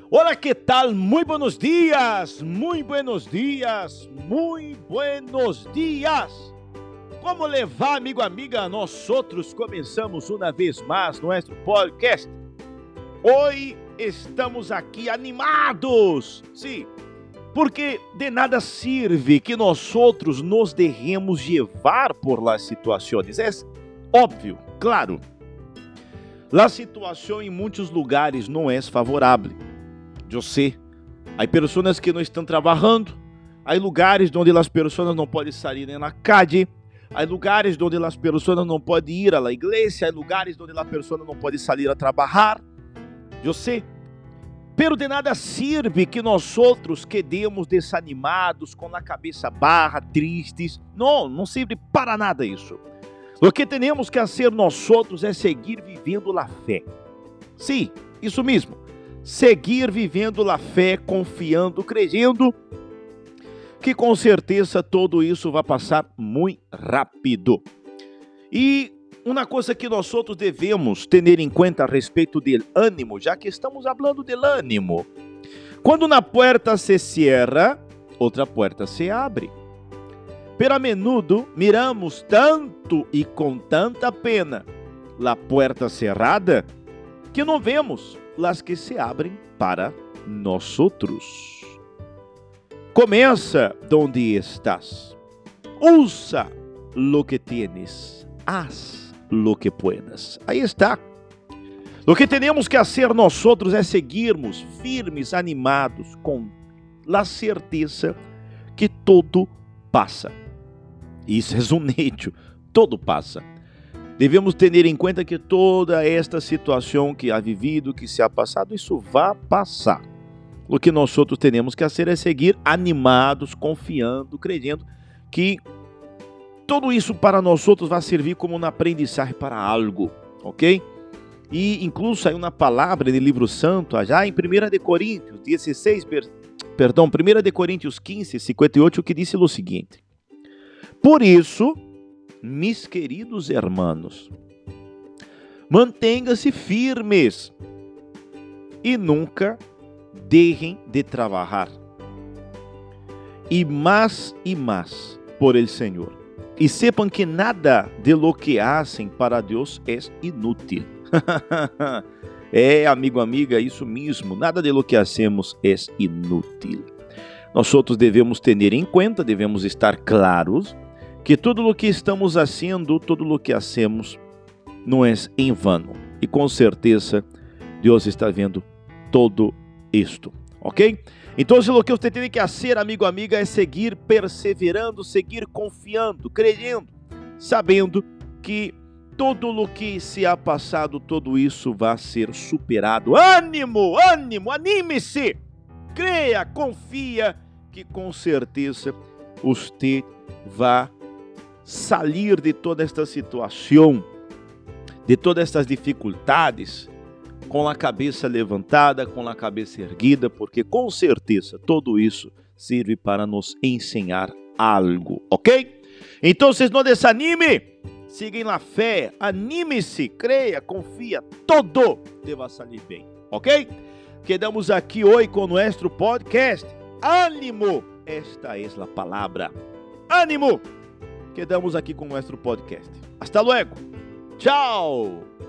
Hola, ¿qué tal? Muy buenos días, muy buenos días, muy buenos días. Como le va, amigo, amiga? Nós outros começamos uma vez mais nosso podcast. Hoje estamos aqui animados, sim, porque de nada sirve que nós outros nos deixemos levar por las situações. É óbvio, claro. La situação em muitos lugares não é favorável. Eu sei, há pessoas que não estão trabalhando, há lugares onde as pessoas não podem sair na calle, há lugares onde as pessoas não podem ir à igreja, há lugares onde as pessoas não podem sair a trabalhar. Eu sei, pero de nada sirve que nós outros quedemos desanimados, com a cabeça baixa, tristes. Não serve para nada isso. O que temos que fazer nós outros é seguir vivendo a fé. Sim, isso mesmo. Seguir vivendo a fé, confiando, crendo que com certeza tudo isso vai passar muito rápido. E uma coisa que nós outros devemos ter em conta a respeito do ânimo, já que estamos falando do ânimo. Quando uma porta se cierra, outra porta se abre. Pero a menudo miramos tanto e com tanta pena a porta cerrada que não vemos las que se abrem para nós outros. Começa donde estás. Usa lo que tienes. Haz lo que puedas. Aí está. O que temos que fazer nós outros é seguirmos firmes, animados, com a certeza que tudo passa. Isso é um hecho. Tudo passa. Devemos ter em conta que toda esta situação que há vivido, que se ha passado, isso vai passar. O que nós outros temos que fazer é seguir animados, confiando, crendo que tudo isso para nós outros vai servir como uma aprendizagem para algo, ok? E incluso aí uma palavra no livro santo, já em 1 Coríntios 1 Coríntios 15, 58, que diz o seguinte: por isso, mis queridos hermanos, mantenham-se firmes e nunca deixem de trabalhar. E mais por el Senhor. E sepam que nada de lo que hacen para Deus é inútil. Amigo, amiga, isso mesmo. Nada de lo que hacemos é inútil. Nós outros devemos ter em conta, devemos estar claros que tudo o que estamos fazendo, tudo o que hacemos, não é em vano. E com certeza, Deus está vendo todo isto, ok? Então, o que você tem que fazer, amigo, amiga, é seguir perseverando, seguir confiando, crendo, sabendo que tudo o que se ha passado, tudo isso vai ser superado. Ânimo, ânimo, anime-se, creia, confia, que com certeza você vai sair de toda esta situação, de todas estas dificuldades, com a cabeça levantada, com a cabeça erguida, porque com certeza tudo isso serve para nos ensinar algo, ok? Então, vocês não desanime, sigam na fé, anime-se, creia, confia, tudo deva sair bem, ok? Quedamos aqui hoje com o nosso podcast. Ânimo, esta é a palavra. Ânimo! Quedamos aqui com o nosso podcast. Hasta luego. Tchau!